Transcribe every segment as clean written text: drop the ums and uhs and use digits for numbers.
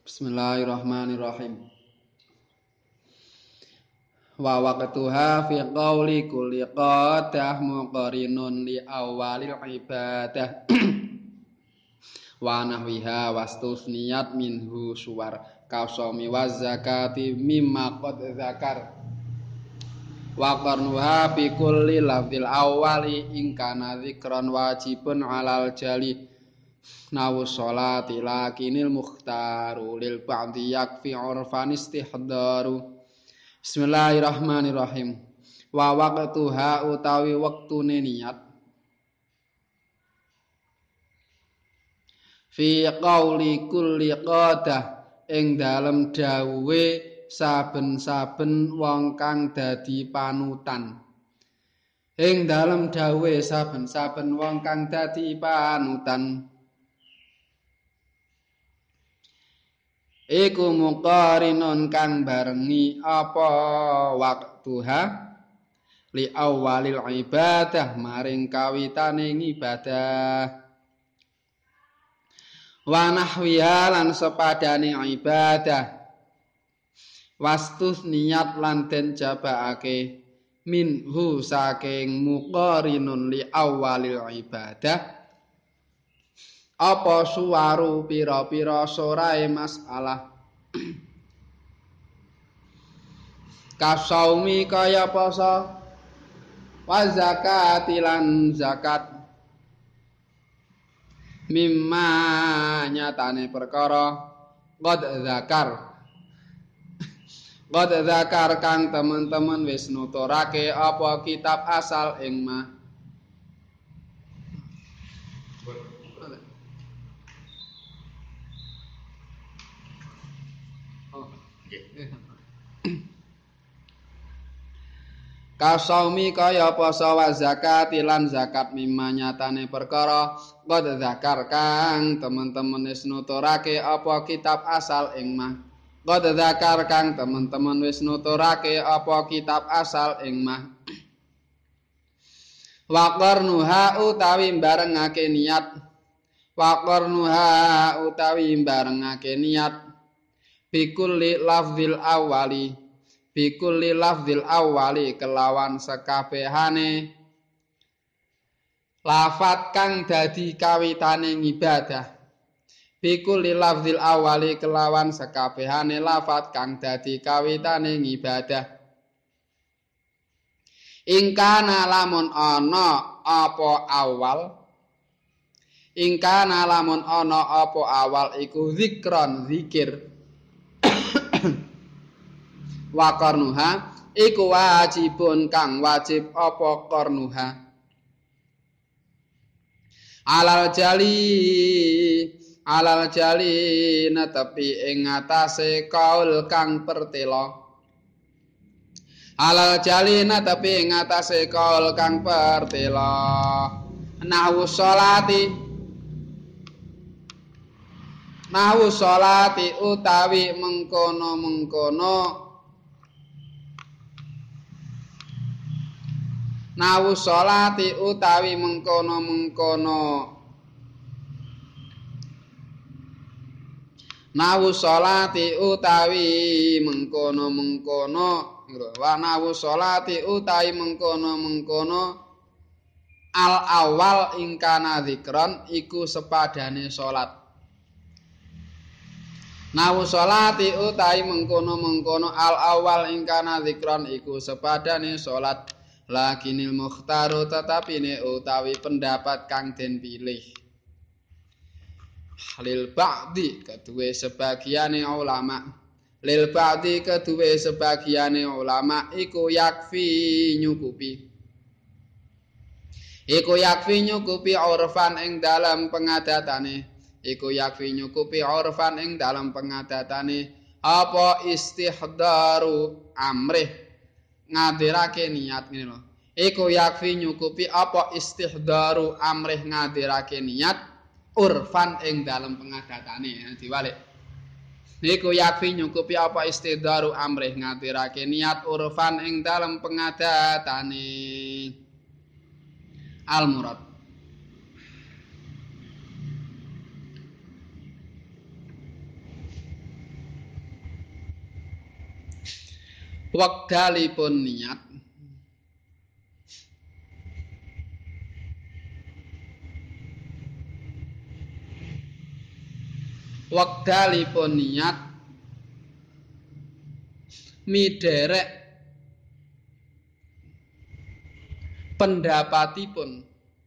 Bismillahirrahmanirrahim. Wa waqtuha fi qawli kulli qadah muqarinun li awalil ibadah wa nahwiha wastusniyat minhu suwar kausami wa zakati mimma qad zakar wa qarnuha fi kulli lafzil awwali in kana dzikran wajibun alal jali nawu sholati lakinil mukhtaru lil ba'di yakfi urfan istihdaru. Bismillahirrahmanirrahim. Wa waqtuha utawi wektune niat fi qauli kulli qadah ing dalem dawuhe saben-saben wong kang dadi panutan. Ing dalem dawuhe saben-saben wong kang dadi panutan iku muqarinun kang barengi apa waktuha li awalil ibadah maring kawitaning ibadah wa nahwiha lan sepadane ibadah wastus niat lan den jabaake minhu saking muqarinun li awalil ibadah apa suwaru pira-pira sorae masalah kasaumi kaya poso wa zakati lan zakat mimma nyatane perkara qad zakar kang teman-teman wis nuturake apa kitab asal ing mah kasaumi kaya poso wa zakati lan zakat mimma nyatane perkara qad zakar kang teman-teman wis nuturake apa kitab asal ing mah qad zakar kang teman-teman wis nuturake apa kitab asal ing mah wa qarnuha utawi barengake niat wa qarnuha utawi barengake niat bikulli lafzil awali bikulli lafzil awali kelawan sekabehane lafat kang dadi kawitaning ibadah bikulli lafzil awali kelawan sekabehane lafat kang dadi kawitaning ibadah ingkana lamun ana apa awal ingkana lamun ana apa awal iku zikron zikir wa qarnuha iku wajibun kang wajib apa qarnuha alal jali netepi ing ngatasé kaul kang pertela alal jali netepi ing ngatasé kaul kang pertela nahwu sholati utawi mengkono nawu sholati utawi mengkono-mengkono nawu sholati utawi mengkono-mengkono wa nawu sholati utawi mengkono-mengkono al awal ingkana dzikron iku sepadane salat nawu sholati utawi mengkono-mengkono al awal ingkana dzikron iku sepadane salat lakinil mukhtaru tetapine utawi pendapat kang den pilih lil ba'di kedue sebagiane ulama iku yakfi nyukupi urfan ing dalam pengadatane apa istihdaru amrih ngadirake niat ngene lho iku yakfi nyukupi apa istihdaru amrih ngadirake niat urfan ing dalem pengadatane diwalik iku yakfi nyukupi apa istihdaru amrih ngadirake niat urfan ing dalem pengadatane al murad Wekdalipun niat midherek pendapatipun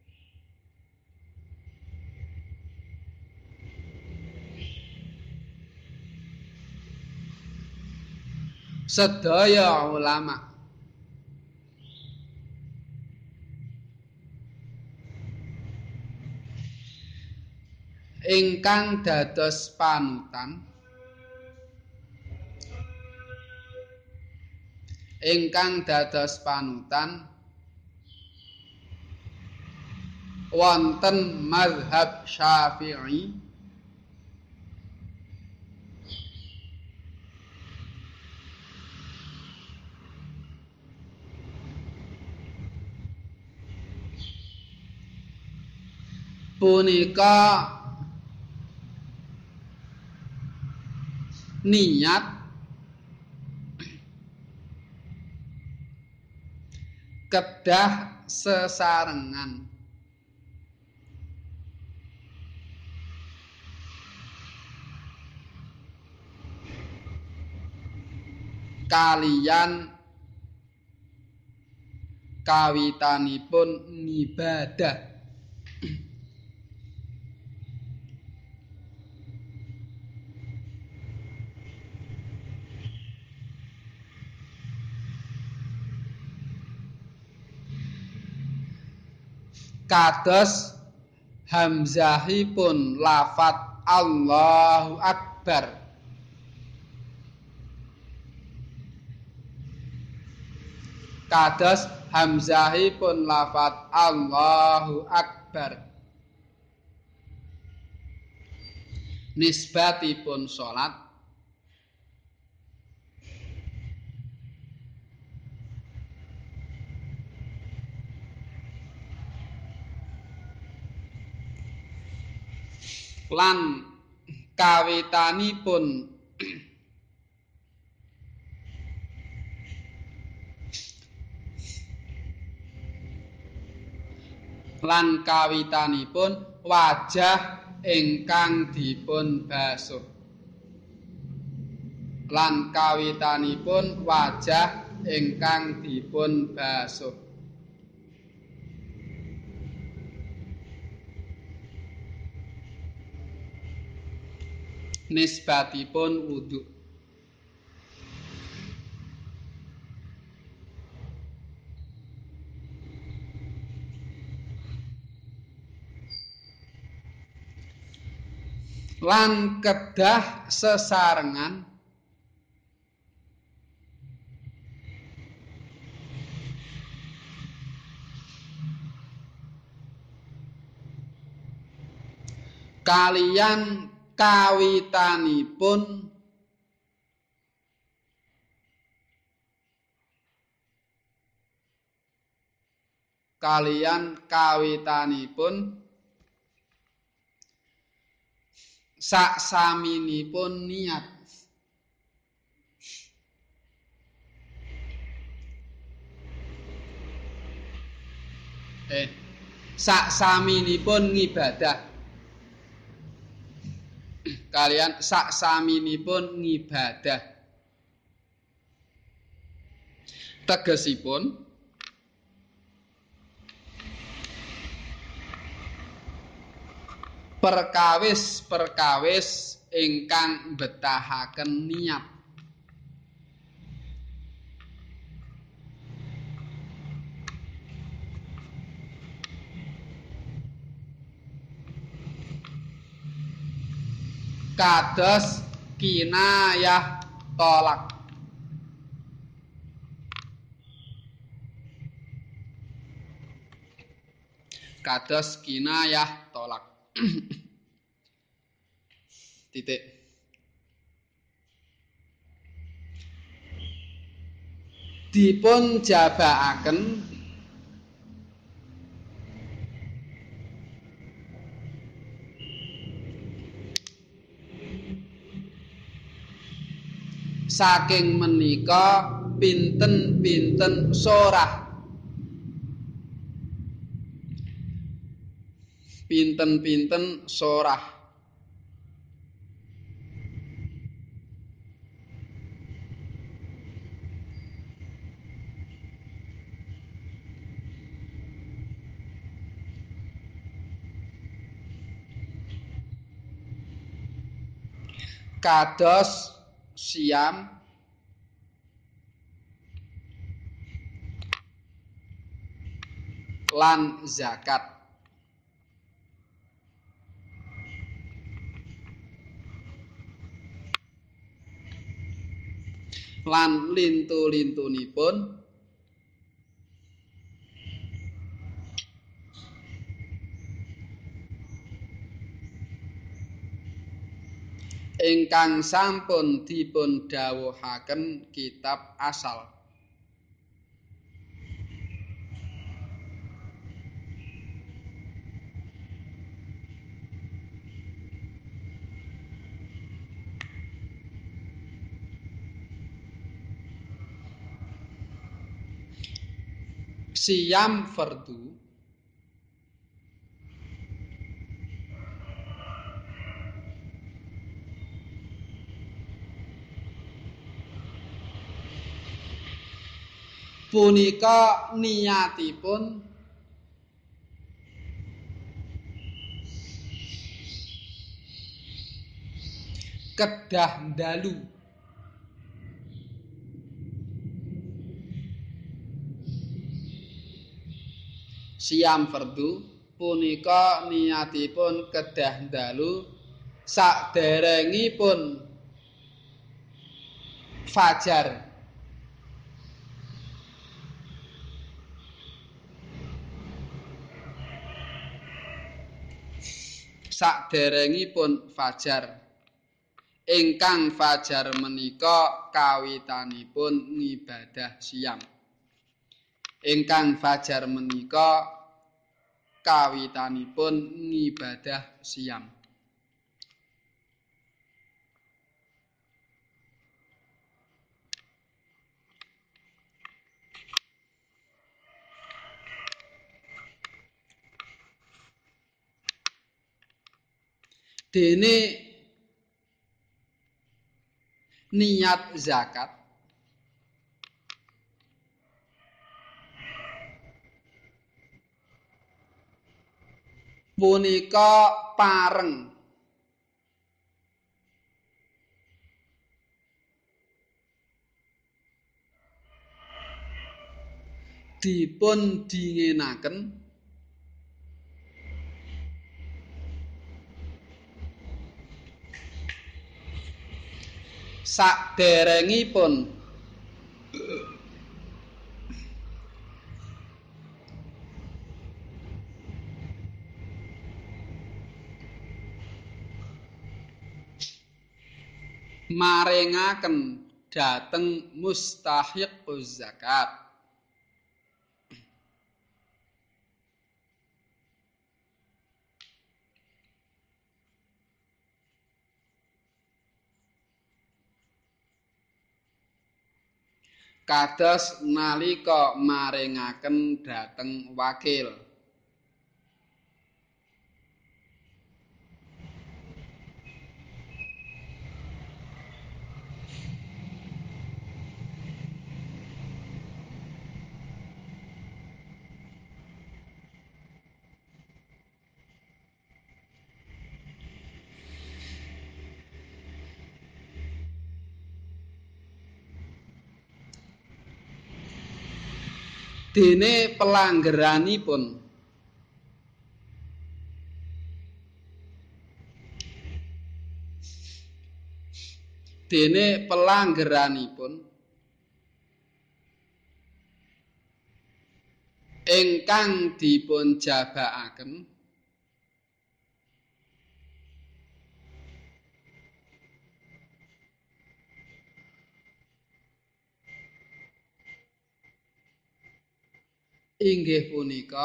sedaya ulama ingkang dados panutan wonten mazhab Syafi'i punika niat kedah sesarengan kaliyan kawitanipun ngibadah kados hamzahipun lafat Allahu Akbar nisbatipun salat lan kawitanipun wajah ingkang dipun basuh nisbatipun wudu lan kedah sesarengan kaliyan kawitanipun saksaminipun niat saksaminipun ngibadah kaliyan saksaminipun ngibadah tegesipun perkawis ingkang mbetahaken niat kados kinayah tolak titik dipun jabaaken saking menika pinten-pinten sorah. Pinten-pinten sorah. Kados siam lan zakat. Lan lintu-lintunipun ingkang sampun dipun dhawuhaken kitab asal. Siyam fardu punika niyatipun kedah dalu. Siyam fardu punika niyatipun kedah dalu saderengipun fajar. Saderengipun fajar. Ingkang fajar menika kawitanipun ngibadah siyam. Ingkang fajar menika kawitanipun ngibadah siyam. Dene niat zakat punika pareng dipun dingenaken saderengipun maringaken dhateng mustahiquz zakat. Kados nalika maringaken dhateng wakil. Dene pelanggeranipun ingkang dipun jabakaken inggih punika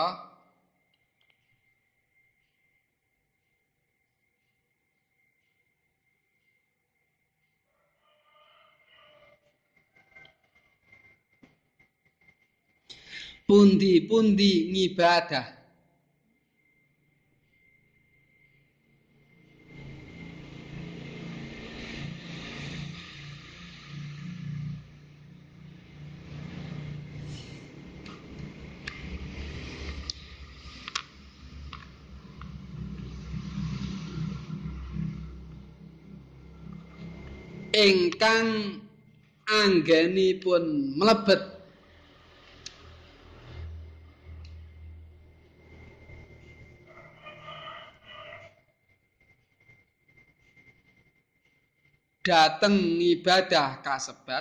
Pundi-pundi ngibadah. Ingkang anggenipun mlebet dhateng ngibadah kasebat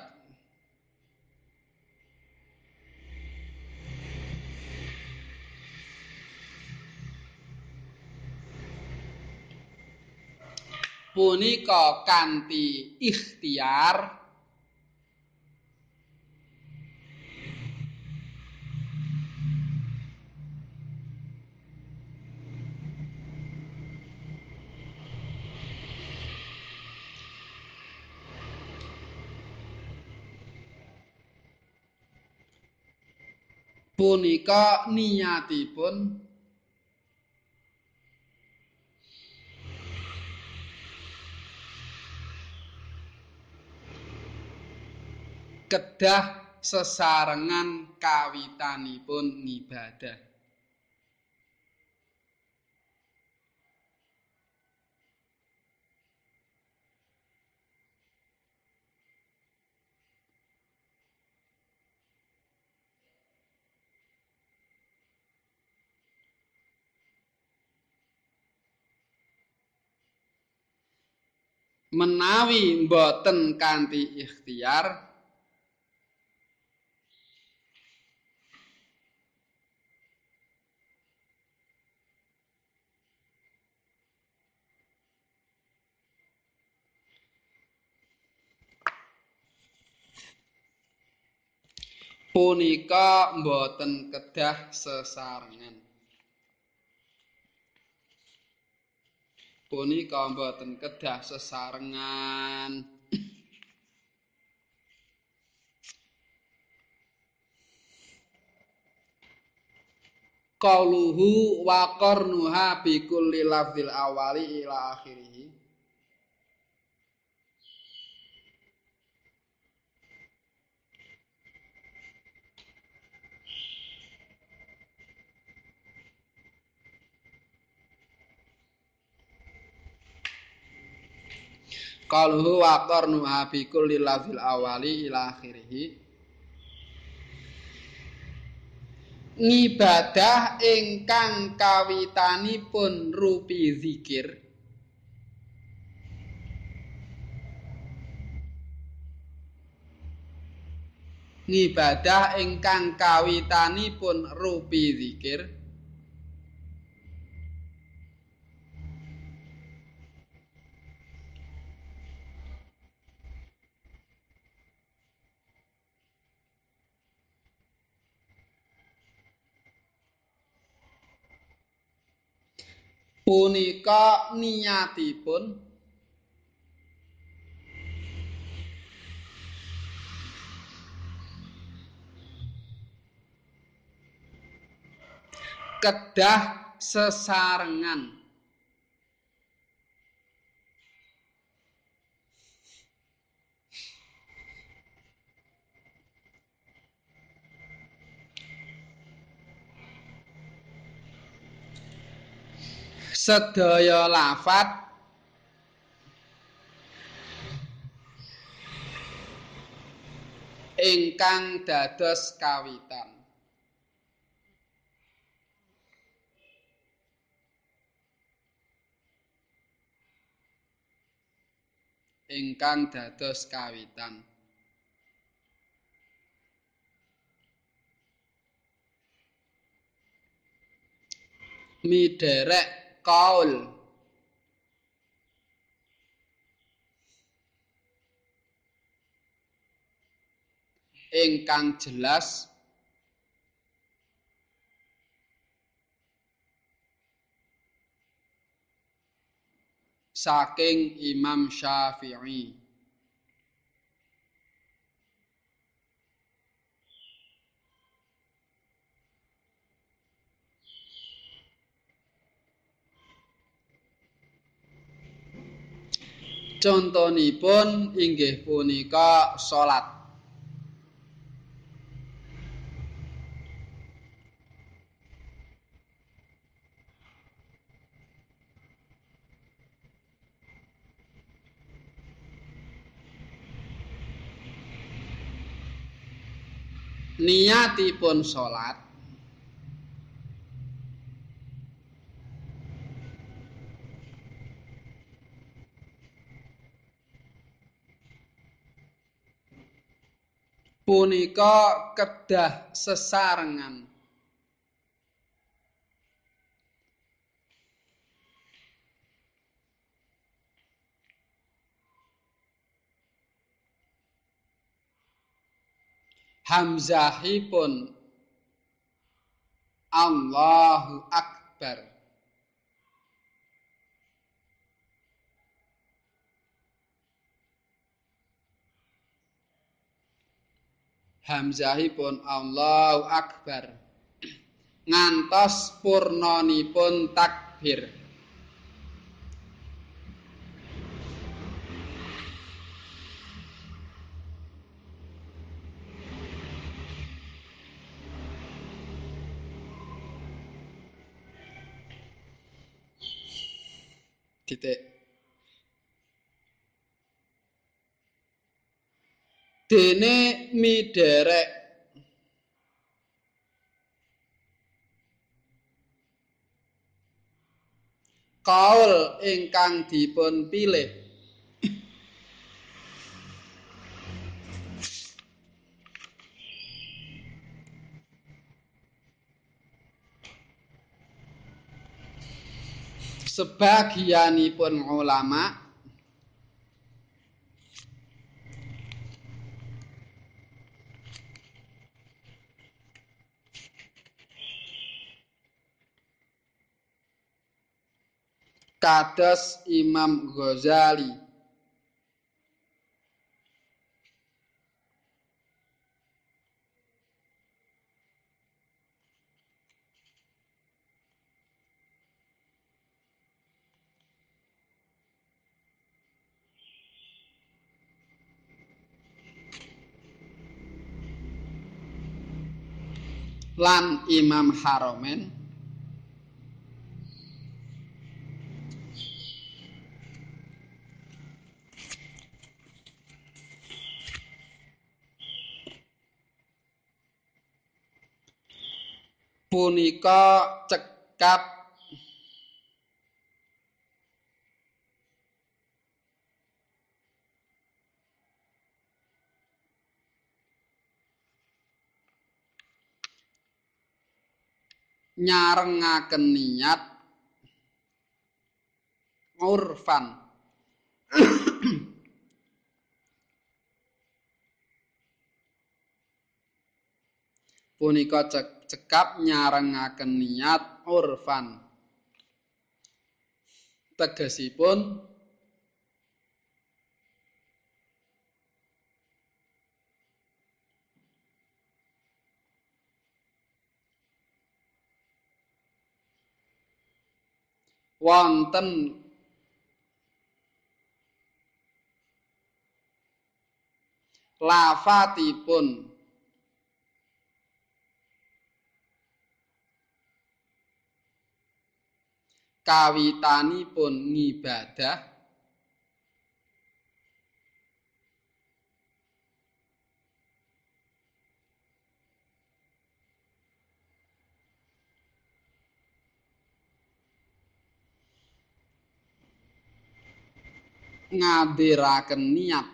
punika kanthi ikhtiar punika niyatipun kedah sesarengan kawitanipun ngibadah. Menawi mboten kanthi ikhtiar punika mboten kedah sesarengan. Punika mboten kedah sesarengan. Qauluhu wa qarnuha bi kulli lafzil awali ila akhirih. Qauluhu wa qarnuha bi kulli lafzil awali ila akhirih. Ngibadah ingkang kawitanipun rupi zikir ngibadah ingkang kawitanipun rupi zikir punika niyatipun kedah sesarengan. Sedaya lafat ingkang dados kawitan ingkang dados kawitan midherek qaul ingkang jelas saking Imam Syafi'i. Contonipun inggih punika salat. Niatipun salat punika kedah sesarengan hamzahipun Allahu Akbar. Hamzahipun Allahu Akbar ngantos purnanipun takbir. Titik. Dene miderek kaul ingkang dipun pilih sebagianipun ulama kados Imam Ghazali lan Imam Haromen punika cekap nyarengaken niat urfan punika cekap nyarengaken niat urfan tegesipun wonten lafadzipun kawitanipun ngibadah ngadhiraken niat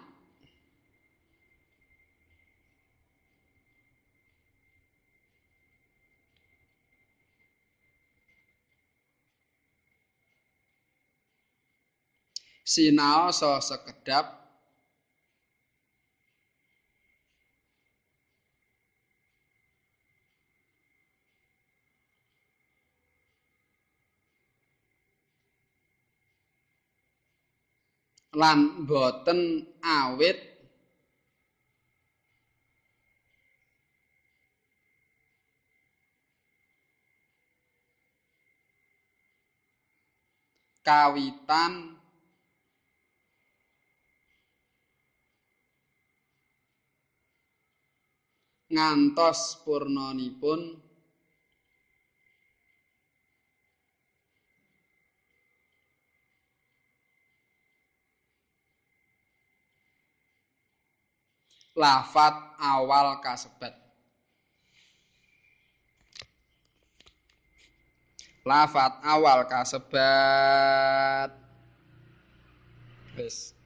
sinaosa sekedhap lan boten awit kawitan ngantos purnanipun lafat awal kasebat. Lafat awal kasebat. Wis.